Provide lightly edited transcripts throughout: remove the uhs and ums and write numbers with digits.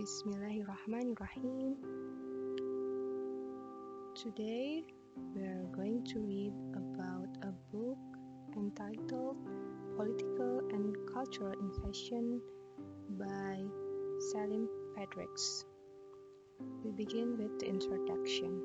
Bismillahirrahmanirrahim. Today we are going to read about a book entitled Political and Cultural in Fashion by Salim Fredericks. We begin with the introduction.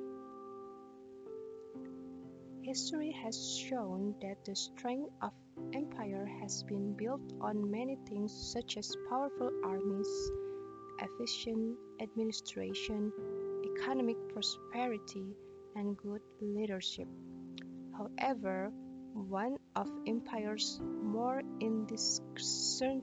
History has shown that the strength of empire has been built on many things such as powerful armies, efficient administration, economic prosperity, and good leadership. However, one of empire's more indiscernible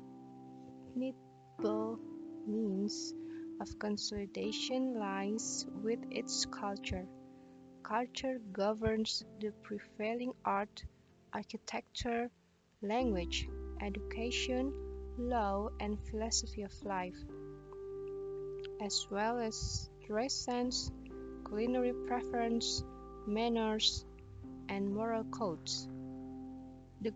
means of consolidation lies with its culture. Culture governs the prevailing art, architecture, language, education, law, and philosophy of life, as well as dress sense, culinary preference, manners, and moral codes. The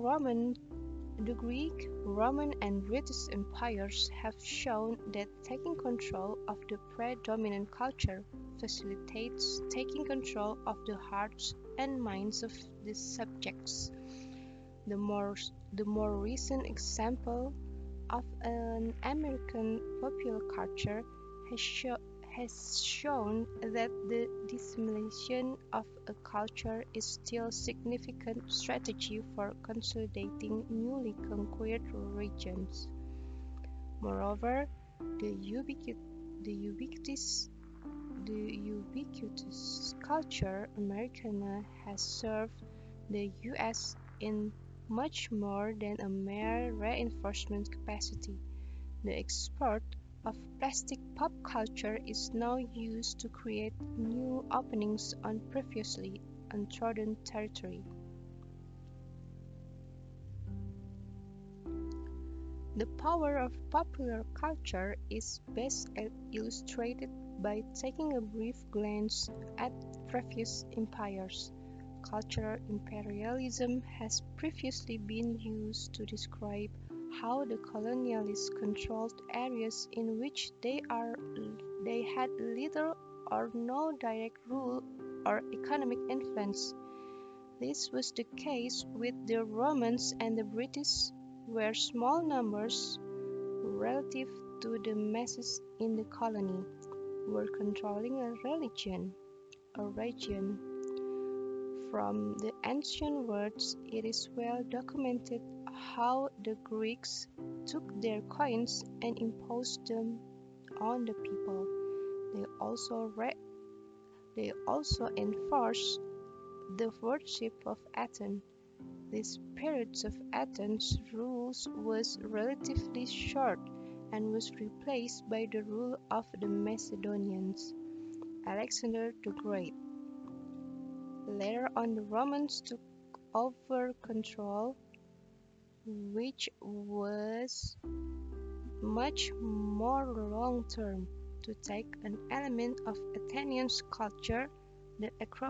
Greek, Roman, and British empires have shown that taking control of the predominant culture facilitates taking control of the hearts and minds of the subjects. The more recent example of an American popular culture has shown that the dissemination of a culture is still a significant strategy for consolidating newly conquered regions. Moreover, the ubiquitous culture Americana has served the U.S. in much more than a mere reinforcement capacity. The export of plastic pop culture is now used to create new openings on previously untrodden territory. The power of popular culture is best illustrated by taking a brief glance at previous empires. Cultural imperialism has previously been used to describe how the colonialists controlled areas in which they had little or no direct rule or economic influence. This was the case with the Romans and the British, where small numbers, relative to the masses in the colony, were controlling a region. From the ancient words, it is well documented how the Greeks took their coins and imposed them on the people. They also enforced the worship of Athens. This period of Athens' rule was relatively short and was replaced by the rule of the Macedonians, Alexander the Great. Later on, the Romans took over control, which was much more long-term. To take an element of Athenian culture, the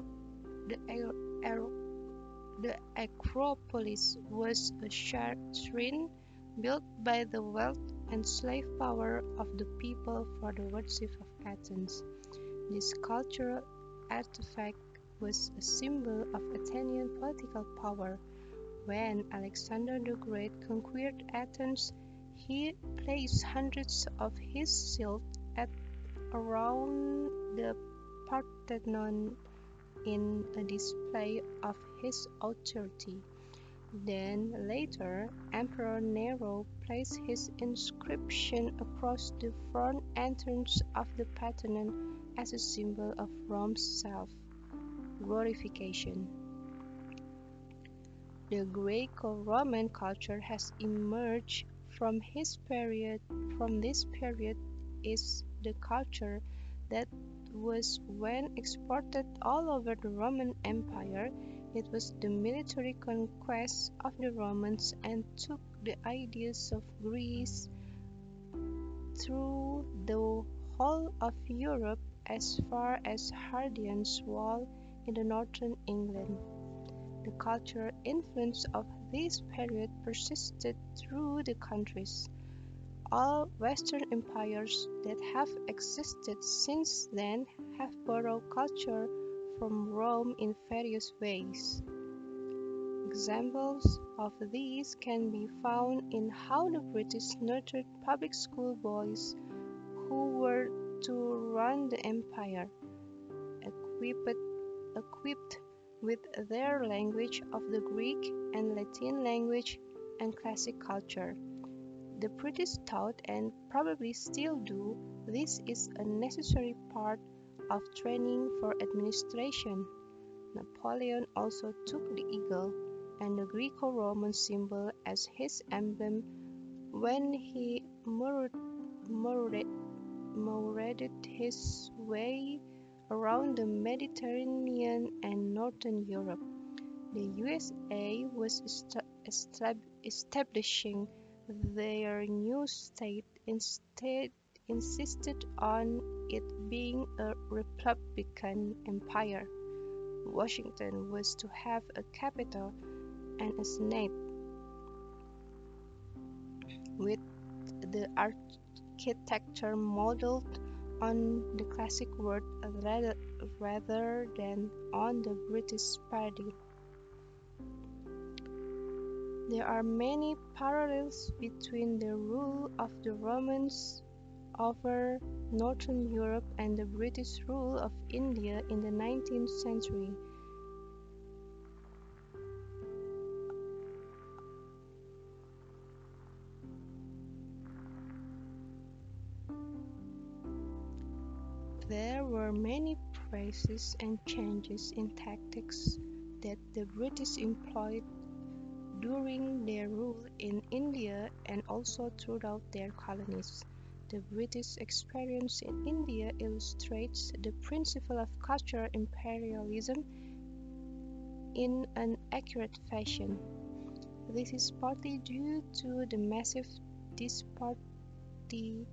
Acropolis was a shrine built by the wealth and slave power of the people for the worship of Athens. This cultural artifact was a symbol of Athenian political power. When Alexander the Great conquered Athens, he placed hundreds of his shields around the Parthenon in a display of his authority. Then later, Emperor Nero placed his inscription across the front entrance of the Parthenon as a symbol of Rome's self-glorification. The Greco-Roman culture has emerged from this period is the culture that was when exported all over the Roman Empire. It was the military conquest of the Romans and took the ideas of Greece through the whole of Europe as far as Hadrian's Wall in the northern England. The cultural influence of this period persisted through the countries All Western empires that have existed since then have borrowed culture from Rome in various ways. Examples of these can be found in how the British nurtured public school boys who were to run the empire, equipped, equipped with their language of the Greek and Latin language and classic culture. The British thought, and probably still do, this is a necessary part of training for administration. Napoleon also took the eagle and the Greco-Roman symbol as his emblem when he marauded his way around the Mediterranean and northern Europe. The USA was establishing their new state instead insisted on it being a republican empire. Washington was to have a capital and a senate, with the architecture modeled on the classic world rather than on the British paradigm. There are many parallels between the rule of the Romans over northern Europe and the British rule of India in the 19th century. There were many phrases and changes in tactics that the British employed during their rule in India and also throughout their colonies. The British experience in India illustrates the principle of cultural imperialism in an accurate fashion. This is partly due to the massive disparity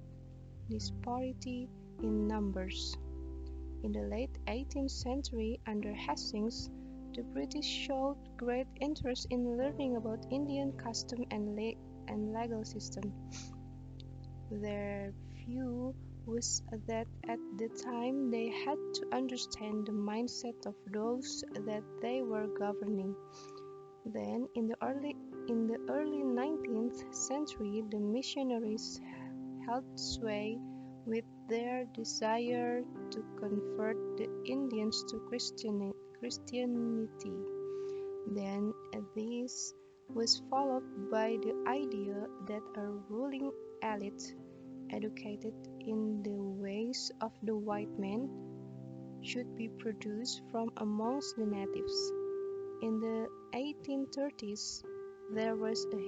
in numbers. In the late 18th century, under Hastings, the British showed great interest in learning about Indian custom and legal system. Their view was that at the time they had to understand the mindset of those that they were governing. Then, in the early 19th century, the missionaries held sway with their desire to convert the Indians to Christianity. Then this was followed by the idea that a ruling elite, educated in the ways of the white man, should be produced from amongst the natives. In the 1830s, there was a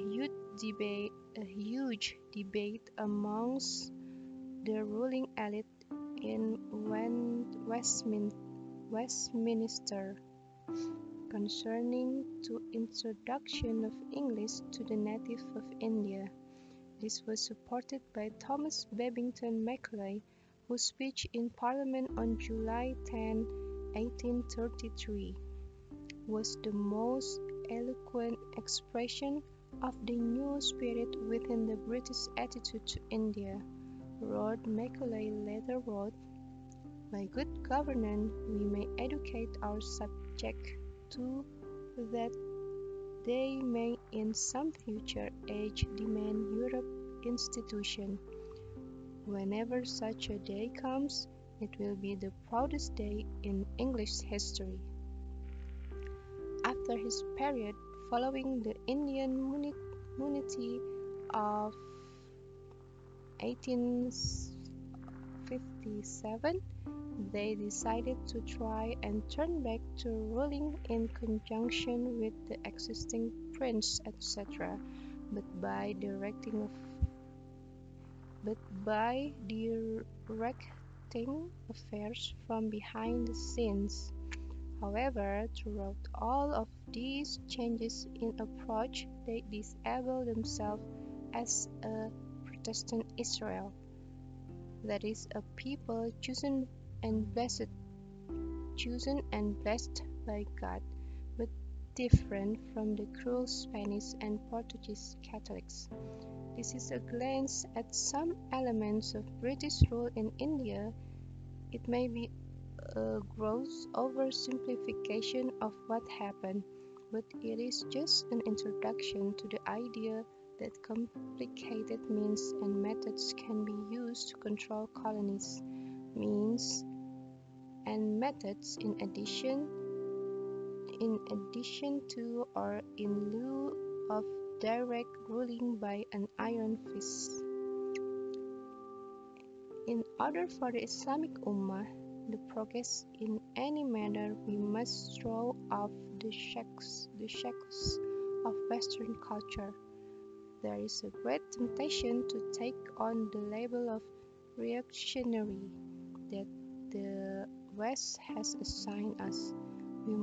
huge debate amongst the ruling elite in Westminster concerning the introduction of English to the natives of India. This was supported by Thomas Babington Macaulay, whose speech in Parliament on July 10, 1833, was the most eloquent expression of the new spirit within the British attitude to India. Lord Macaulay later wrote, "By good governance we may educate our subjects to that they may in some future age demand Europe's institution. Whenever such a day comes, it will be the proudest day in English history." After his period following the Indian Mutiny of 1857, they decided to try and turn back to ruling in conjunction with the existing prince, etc., but by directing affairs from behind the scenes. However, throughout all of these changes in approach, they disable themselves as a Protestant Israel, that is, a people chosen and blessed by God, but different from the cruel Spanish and Portuguese Catholics. This is a glance at some elements of British rule in India. It may be a gross oversimplification of what happened, but it is just an introduction to the idea that complicated means and methods can be used to control colonies. Means and methods in addition to or in lieu of direct ruling by an iron fist. In order for the Islamic Ummah to progress in any manner, we must throw off the shackles of Western culture. There is a great temptation to take on the label of reactionary that the West has assigned us. We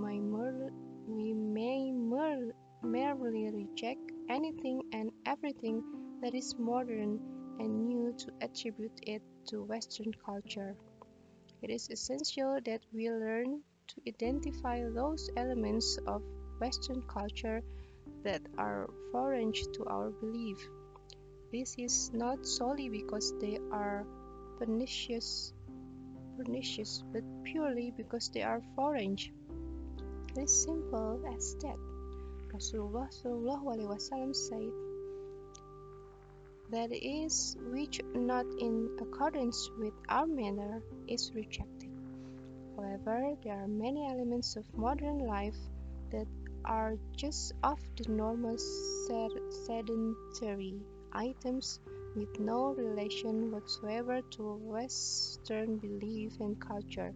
may merely reject anything and everything that is modern and new to attribute it to Western culture. It is essential that we learn to identify those elements of Western culture that are foreign to our belief. This is not solely because they are pernicious, but purely because they are foreign. It is simple as that. Rasulullah SAW said, "That is which not in accordance with our manner is rejected." However, there are many elements of modern life that are just of the normal sedentary items with no relation whatsoever to Western belief and culture.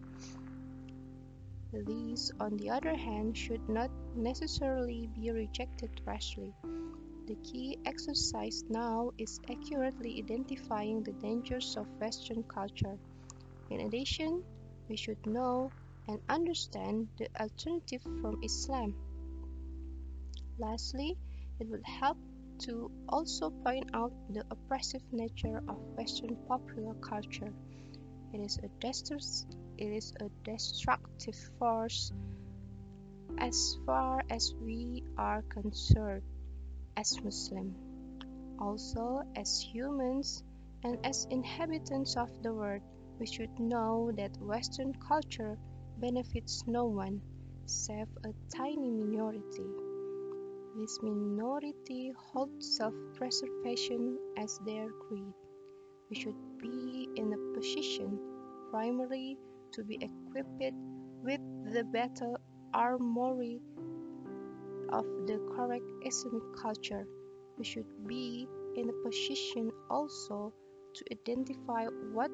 These, on the other hand, should not necessarily be rejected rashly. The key exercise now is accurately identifying the dangers of Western culture. In addition, we should know and understand the alternative from Islam. Lastly, it would help to also point out the oppressive nature of Western popular culture. It is a destructive force as far as we are concerned as Muslims. Also, as humans and as inhabitants of the world, we should know that Western culture benefits no one, save a tiny minority. This minority holds self-preservation as their creed. We should be in a position, primarily, to be equipped with the battle armory of the correct Islamic culture. We should be in a position also to identify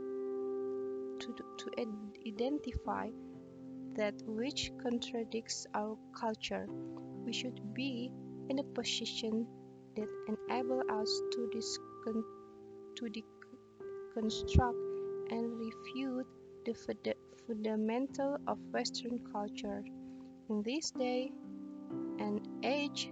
identify that which contradicts our culture. We should be in a position that enable us to deconstruct and refute the fundamental of Western culture. In this day and age,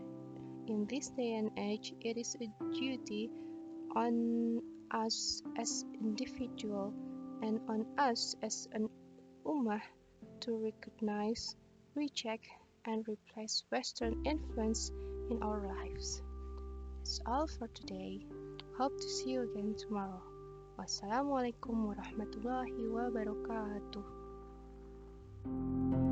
it is a duty on us as individual and on us as an ummah to recognize, reject, and replace Western influence in our lives. That's all for today. Hope to see you again tomorrow. Wassalamualaikum warahmatullahi wabarakatuh.